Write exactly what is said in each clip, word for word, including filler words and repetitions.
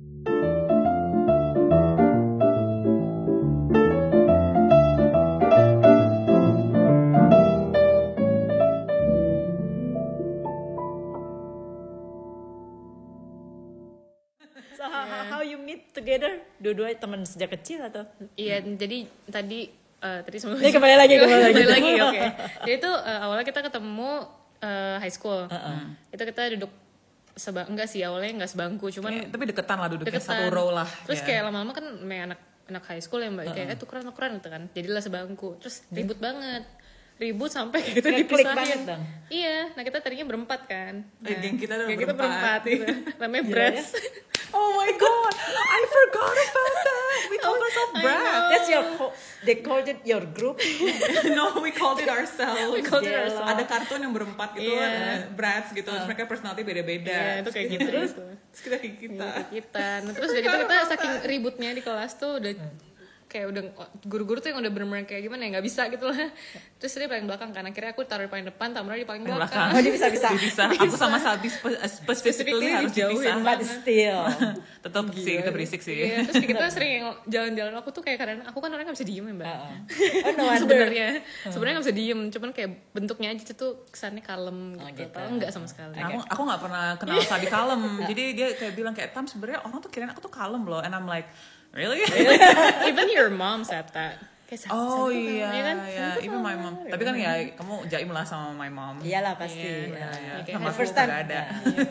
So how, yeah. how you meet together? Dua-duanya teman sejak kecil atau? Iya, hmm. jadi tadi uh, tadi semua. Ini kembali lagi, kembali lagi. kembali lagi, oke. Okay. Jadi itu uh, awalnya kita ketemu uh, high school. Uh-uh. Itu kita duduk sebang, enggak sih awalnya enggak sebangku, cuman kayak, tapi deketan lah duduknya deketan. Satu row lah. Terus yeah. kayak lama-lama kan main anak anak high school ya mbak, uh-uh. kayak eh tukeran-tukeran gitu kan. Jadilah sebangku. Terus ribut hmm. banget. Ribut sampai kita dipisahin. Iya, nah kita tadinya berempat kan. Nah, eh, geng kita geng berempat. kita berempat gitu. Namanya Brats. Oh my god, I forgot about that. We called ourselves Brats. That's your co- they called it your group. No, we called it ourselves. We called it ourselves. Ada kartun yang berempat gitu, yeah. Brats gitu. Terus mereka personality beda-beda. Iya, yeah, itu kayak gitu. Terus, terus kita kayak kita. Iya, kita. Nah, terus udah gitu kita saking ributnya di kelas tuh udah kayak udah guru-guru tuh yang udah bener-bener kayak gimana ya nggak bisa gitu lah. Terus dia paling belakang kan, akhirnya aku taruh di paling depan, Tamara di paling belakang. Oh dia bisa-bisa. bisa. Aku sama Sabi spe- specifically harus dipisah. But still tetap sih kita berisik sih. Iya, terus kita sering jalan-jalan, aku tuh kayak kadang aku kan orangnya nggak bisa diem ya mbak. Uh-uh. Oh no wonder. Sebenarnya sebenarnya nggak bisa diem, cuman kayak bentuknya aja tuh kesannya kalem oh, gitu. gitu. Padahal nggak sama sekali. Nah, aku aku nggak pernah kenal Sabi kalem. Jadi dia kayak bilang kayak Tam sebenarnya orang tuh kirain aku tuh kalem loh, and I'm like really? Even your mom said that. Kayak, oh iya, ya kan? Iya, even my mom. Tapi kan ya kamu jaim lah sama my mom. Iyalah pasti. Iya, iya. Yeah. Sama the first time ada.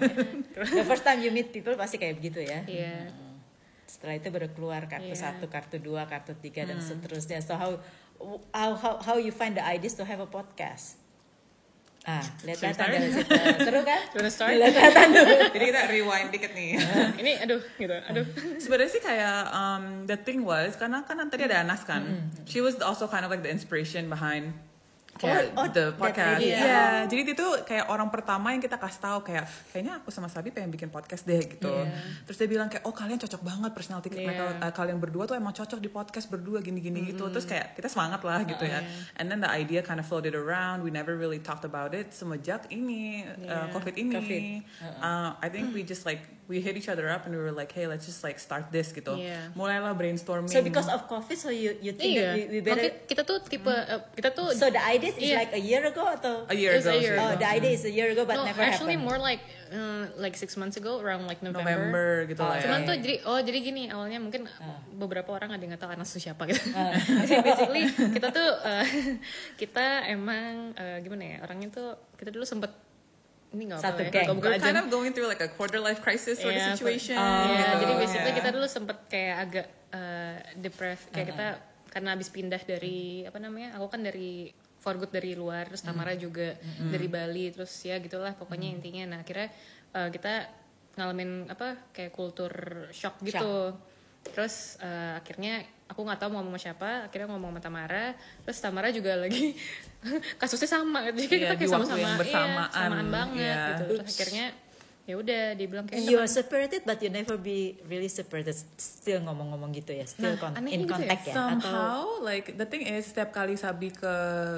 The first time you meet people pasti kayak begitu ya. Iya. Yeah. Setelah itu baru keluar kartu yeah. satu, kartu dua, kartu tiga dan hmm. seterusnya. So how how how how you find the ideas to have a podcast? Ah, lihat-lihatan dari situ. Seru kan? Wanna start? Lihat-lihatan dulu. Jadi kita rewind dikit nih. Ini aduh gitu, aduh. Sebenarnya sih kayak um, the thing was karena kan tadi ada Anas kan. Mm-hmm. She was also kind of like the inspiration behind kayak oh, oh, the podcast. Iya, yeah. Jadi dia tuh kayak orang pertama yang kita kasih tahu kayak kayaknya aku sama Sabi pengen bikin podcast deh gitu. Yeah. Terus dia bilang kayak oh kalian cocok banget personality yeah. mereka uh, kalian berdua tuh emang cocok di podcast berdua gini-gini mm-hmm. gitu. Terus kayak kita semangat lah gitu uh, ya. Yeah. And then the idea kind of floated around. We never really talked about it semenjak ini yeah. uh, COVID ini. COVID. Uh-uh. Uh, I think we just like we hit each other up and we were like hey let's just like start this gitu. Yeah. Mulailah brainstorming. So because of COVID so you you think yeah. that we, we better okay, kita tuh tipe uh, kita tuh so the idea is yeah. like a year ago atau a year ago. A year oh, ago. the idea is a year ago but no, never actually happened. more like uh, like six months ago around like November. November gitu lah. Oh, cuman ya. tuh jadi oh jadi gini awalnya mungkin uh. beberapa orang ada yang nggak tahu Anas itu siapa gitu. Uh. Basically kita tuh uh, kita emang uh, gimana ya orangnya tuh kita dulu sempet ini nggak satu apa ya, we're kind of going through like a quarter life crisis sort yeah, of situation. Uh, gitu. yeah, jadi basically yeah. kita dulu sempet kayak agak uh, depressed kayak uh-huh. kita karena habis pindah dari apa namanya aku kan dari for good dari luar terus Tamara mm. juga mm. dari Bali terus ya gitulah pokoknya mm. intinya nah akhirnya uh, kita ngalamin apa kayak kultur shock gitu shock. Terus uh, akhirnya aku nggak tahu mau ngomong sama siapa akhirnya ngomong sama Tamara terus Tamara juga lagi kasusnya sama jadi yeah, kita kayak sama-sama yang bersamaan iya, samaan banget yeah. gitu terus akhirnya ya udah dibilang kayak you are separated but you never be really separated still ngomong-ngomong gitu ya still nah, con- in contact gitu ya, ya? Somehow atau like the thing is setiap kali Sabi ke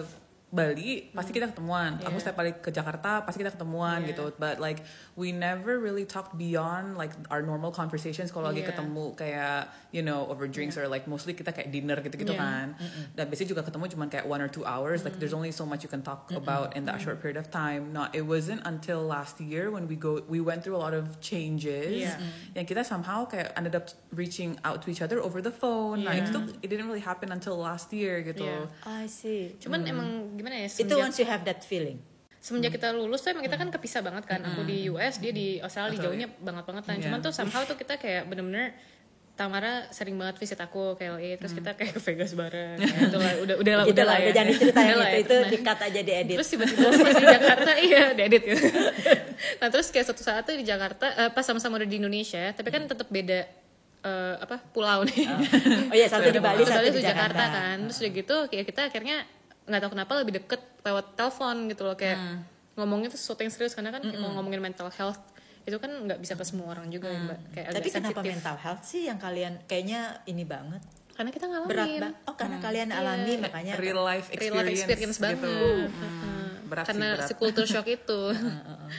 Bali hmm. pasti kita ketemuan. Yeah. Aku setiap kali ke Jakarta pasti kita ketemuan yeah. gitu. But like we never really talked beyond like our normal conversations kalau yeah. lagi ketemu kayak you know over drinks yeah. or like mostly kita kayak dinner gitu-gitu yeah. kan. Mm-mm. Dan biasanya juga ketemu cuma kayak one or two hours. Mm. Like there's only so much you can talk Mm-mm. about in that Mm-mm. short period of time. No, it wasn't until last year when we go we went through a lot of changes. Yeah. Yang kita somehow kayak ended up reaching out to each other over the phone. Yeah. Nah, itu it didn't really happen until last year gitu. Yeah. I see. Cuman mm. emang gimana ya semenjak, itu once you have that feeling semenjak hmm. kita lulus tuh emang kita kan kepisah banget kan hmm. aku di U S dia di Australia Australia. jauhnya banget banget kan yeah. cuman tuh somehow tuh kita kayak bener-bener Tamara sering banget visit aku ke L A terus hmm. kita kayak ke Vegas bareng ya, itulah udah udah lah udah lah ya. jangan diceritain itu ya. Itu dikat aja diedit terus tiba-tiba pas di Jakarta iya diedit gitu nah terus kayak suatu saat tuh di Jakarta uh, pas sama-sama udah di Indonesia tapi kan tetap beda uh, apa pulau nih oh, oh iya satu di Bali satu di Jakarta. Jakarta kan terus udah gitu kayak kita akhirnya nggak tahu kenapa lebih deket lewat telepon gitu loh kayak hmm. ngomongnya tuh sesuatu yang serius karena kan mm-hmm. kalau ngomongin mental health itu kan nggak bisa ke semua orang juga hmm. ya mbak kayak tapi agak kenapa sensitif. Mental health sih yang kalian kayaknya ini banget karena kita ngalamin berat ba- oh karena hmm. kalian alami yeah. makanya real life experience, real life experience gitu. banget hmm. berat karena sih, berat. si culture shock itu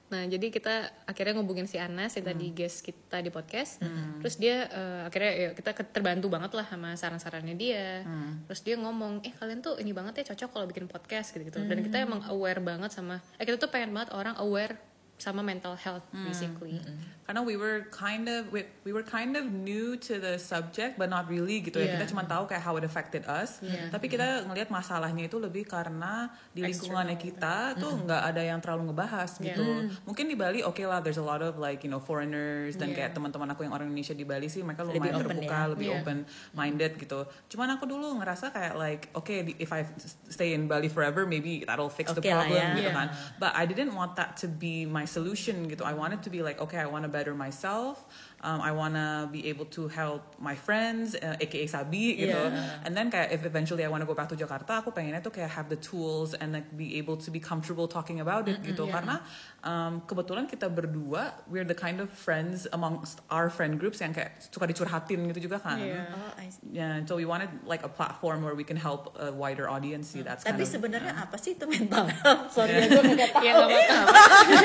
Nah jadi kita akhirnya ngubungin si Anas yang tadi guest kita di podcast. Terus dia uh, akhirnya ya, kita terbantu banget lah sama saran-sarannya dia. Terus dia ngomong, eh kalian tuh ini banget ya cocok kalau bikin podcast gitu-gitu. Dan kita emang aware banget sama, eh kita tuh pengen banget orang aware sama mental health basically. Mm-hmm. Karena we were kind of we, we were kind of new to the subject but not really gitu yeah. ya. Kita cuma tahu kayak how it affected us. Yeah. Tapi kita ngelihat masalahnya itu lebih karena di lingkungannya kita External. tuh nggak ada yang terlalu ngebahas gitu. Yeah. Mungkin di Bali oke okay lah, there's a lot of like you know foreigners dan yeah. kayak teman-teman aku yang orang Indonesia di Bali sih mereka Lebih lumayan open terbuka, ya. lebih Yeah. open minded gitu. Cuman aku dulu ngerasa kayak like oke okay, if I stay in Bali forever maybe that'll fix the Okay lah problem ya. gitu Yeah. kan. But I didn't want that to be my solution gitu. I wanted to be like, okay, I want to better myself. Um, I want to be able to help my friends, uh, aka Sabi gitu. Yeah. And then kayak if eventually I want to go back to Jakarta, aku pengennya tuh kayak have the tools and like be able to be comfortable talking about it gitu. yeah. Karena um, kebetulan kita berdua, we're the kind of friends amongst our friend groups yang kayak suka dicurhatin gitu juga kan. Yeah. Oh, I see. Yeah, so we wanted like a platform where we can help a wider audience. See, that's Tapi kind of, sebenarnya uh, apa sih itu mental health? Sorry ya gue nggak tahu. Ya nggak apa-apa.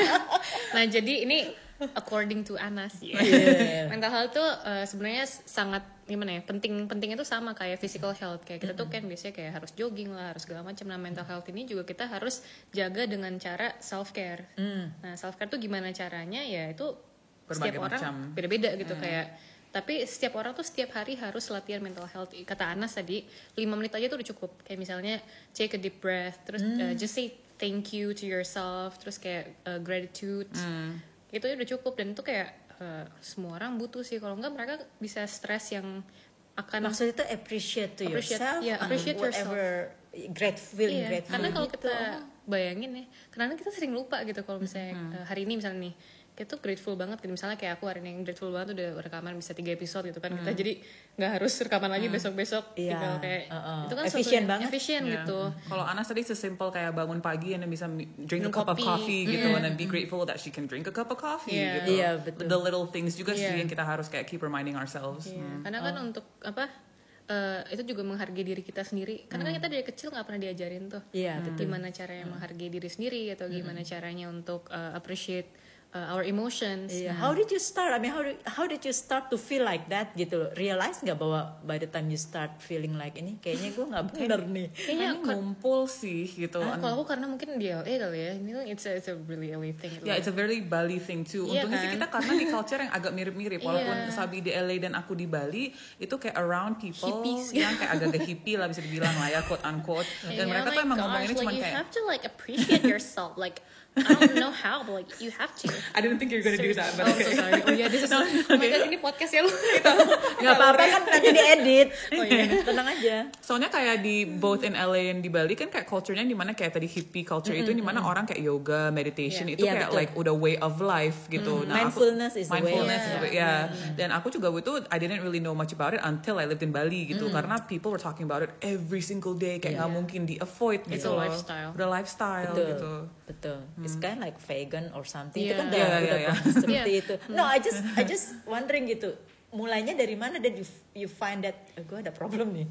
Nah jadi ini according to Anas ya. Yeah. Mental health tuh uh, sebenarnya sangat gimana ya, penting pentingnya tuh sama kayak physical health. Kayak kita tuh kan biasanya kayak harus jogging lah, harus segala macam. Nah mental health ini juga kita harus jaga dengan cara self care. Nah self care tuh gimana caranya ya itu Berbagai setiap orang macam. beda-beda gitu kayak. Tapi setiap orang tuh setiap hari harus latihan mental health. Kata Anas tadi lima menit aja tuh udah cukup. Kayak misalnya take a deep breath, terus uh, just say thank you to yourself, terus kayak uh, gratitude. Itu udah cukup dan itu kayak uh, semua orang butuh sih. Kalau enggak mereka bisa stres yang akan Maksudnya itu appreciate to Appreciate, yourself, yeah, appreciate whatever, grateful, feeling iya, grateful. karena kalau gitu. kita bayangin ya, karena kita sering lupa gitu kalau misalnya uh, hari ini misalnya nih kita tuh grateful banget gitu, misalnya kayak aku hari ini yang grateful banget udah rekaman bisa tiga episode gitu kan, kita jadi nggak harus rekaman lagi besok-besok Iya, tinggal kayak uh-uh. itu kan Efficient suatu yang banget. efisien Yeah. gitu. Kalau Anas tadi sesimpel kayak bangun pagi and then bisa drink a Minum cup of kopi. coffee gitu Mm. and then be grateful that she can drink a cup of coffee Yeah. gitu. Iya, betul. The little things juga sih Yeah. yang kita harus kayak keep reminding ourselves. Iya, Hmm. karena kan untuk apa eh, itu juga menghargai diri kita sendiri. Karena kan kita dari kecil nggak pernah diajarin tuh Iya, betul. gimana caranya menghargai diri sendiri atau gimana caranya untuk eh, appreciate eh, our emotions. Iya. How did you start? I mean, how did, how did you start to feel like that gitu loh? Realize nggak bahwa by the time you start feeling like ini, kayaknya gue nggak bener nih. Kayaknya Ini ngumpul sih gitu. Ah, kalau aku karena mungkin di L A kali ya, ini tuh it's a, it's a really L A thing. Gitu. Ya, yeah, it's a very Bali thing too. Iya Untungnya sih kan? kita karena di culture yang agak mirip-mirip. Walaupun Iya. Sabi di L A dan aku di Bali, itu kayak around people Hippies. yang kayak agak-agak hippie lah bisa dibilang lah ya, quote unquote. Dan Yeah, mereka oh tuh my emang gosh, ngomonginnya like cuma you kayak, have to like appreciate yourself. Like I don't know how, but like you have to. I didn't think you're gonna do that. Oh, But so okay. sorry. Oh yeah, this is. Oh my god, ini podcast ya lu. Nggak apa-apa kan nanti diedit. Oh iya. Tenang aja. Soalnya kayak di both in L A and di Bali kan kayak culture-nya dimana kayak tadi hippie culture itu dimana orang kayak yoga, meditation Yeah. itu Iya, kayak betul. like udah way of life gitu. Nah, aku- Mindfulness is the way. mindfulness is Yeah. the way, yeah. Dan aku juga waktu itu I didn't really know much about it until I lived in Bali gitu karena people were talking about it every single day kayak nggak Yeah. mungkin di avoid It's gitu. a lifestyle. Udah lifestyle Betul. gitu. Betul. It's kind of like vegan or something. Itu Yeah. kan udah, Yeah, udah yeah, yeah. proses seperti Yeah. itu. No, I just I just wondering gitu. Mulainya dari mana dan you you find that oh, gue ada problem nih.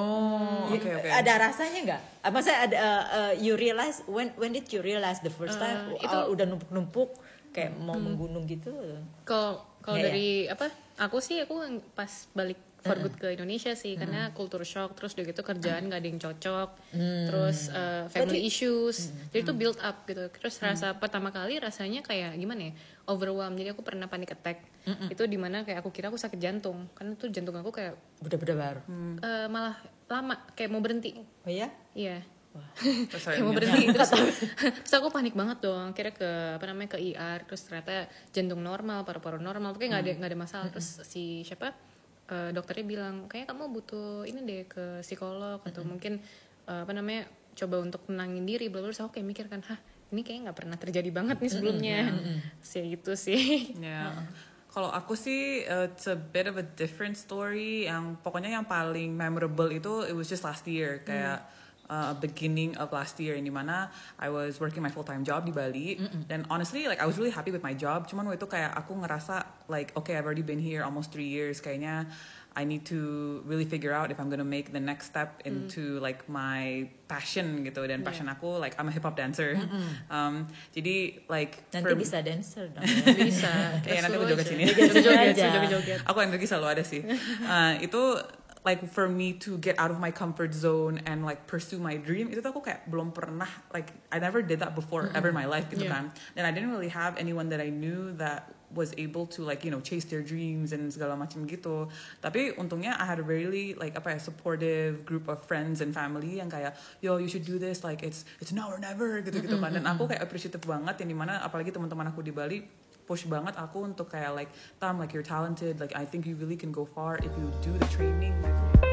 Oh, You- oke oke. Ada rasanya nggak? Ah, Maksudnya ada uh, uh, you realize when when did you realize the first time Uh, itu- uh, udah numpuk-numpuk kayak mau menggunung gitu? Kalau kalau Iya, dari apa? Aku sih aku yang pas balik for good ke Indonesia sih karena culture shock terus udah gitu kerjaan gak ada yang cocok terus uh, family Berarti- issues jadi tuh build up gitu terus rasa pertama kali rasanya kayak gimana ya overwhelmed jadi aku pernah panic attack itu dimana kayak aku kira aku sakit jantung karena tuh jantung aku kayak Udah-udah baru. uh, malah lama kayak mau berhenti Oh ya? iya Terus kayak mau akhirnya- berhenti terus, terus aku panik banget dong akhirnya ke apa namanya ke I R terus ternyata jantung normal paru-paru normal pokoknya nggak ada nggak ada masalah terus si siapa eh, dokternya bilang kayaknya kamu butuh ini deh ke psikolog atau mungkin eh, apa namanya coba untuk tenangin diri bla bla terus aku kayak mikir kan hah ini kayaknya nggak pernah terjadi banget nih sebelumnya sih gitu sih. Ya. Kalau aku sih uh, it's a bit of a different story yang pokoknya yang paling memorable itu it was just last year kayak uh, beginning of last year, in dimana I was working my full time job di Bali. Mm-mm. Dan honestly like I was really happy with my job. Cuman waktu itu kayak aku ngerasa like okay, I've already been here almost three years. Kayaknya I need to really figure out if I'm gonna make the next step into mm. like my passion gitu. Dan passion yeah. aku like I'm a hip hop dancer. Um, jadi like nanti for, bisa dancer dong. Bisa. Kayak nanti aku joget sini. Joget-joget. Aku energi selalu ada sih. Uh, itu like for me to get out of my comfort zone and like pursue my dream, itu tuh aku kayak belum pernah, like I never did that before mm-hmm. ever in my life gitu yeah. kan. Dan I didn't really have anyone that I knew that was able to like you know chase their dreams and segala macam gitu. Tapi untungnya I had a really like apa ya supportive group of friends and family yang kayak yo you should do this, like it's it's now or never gitu gitu kan. Dan aku kayak appreciative banget yang dimana apalagi teman-teman aku di Bali push banget aku untuk kayak like Tam, like you're talented, like I think you really can go far if you do the training.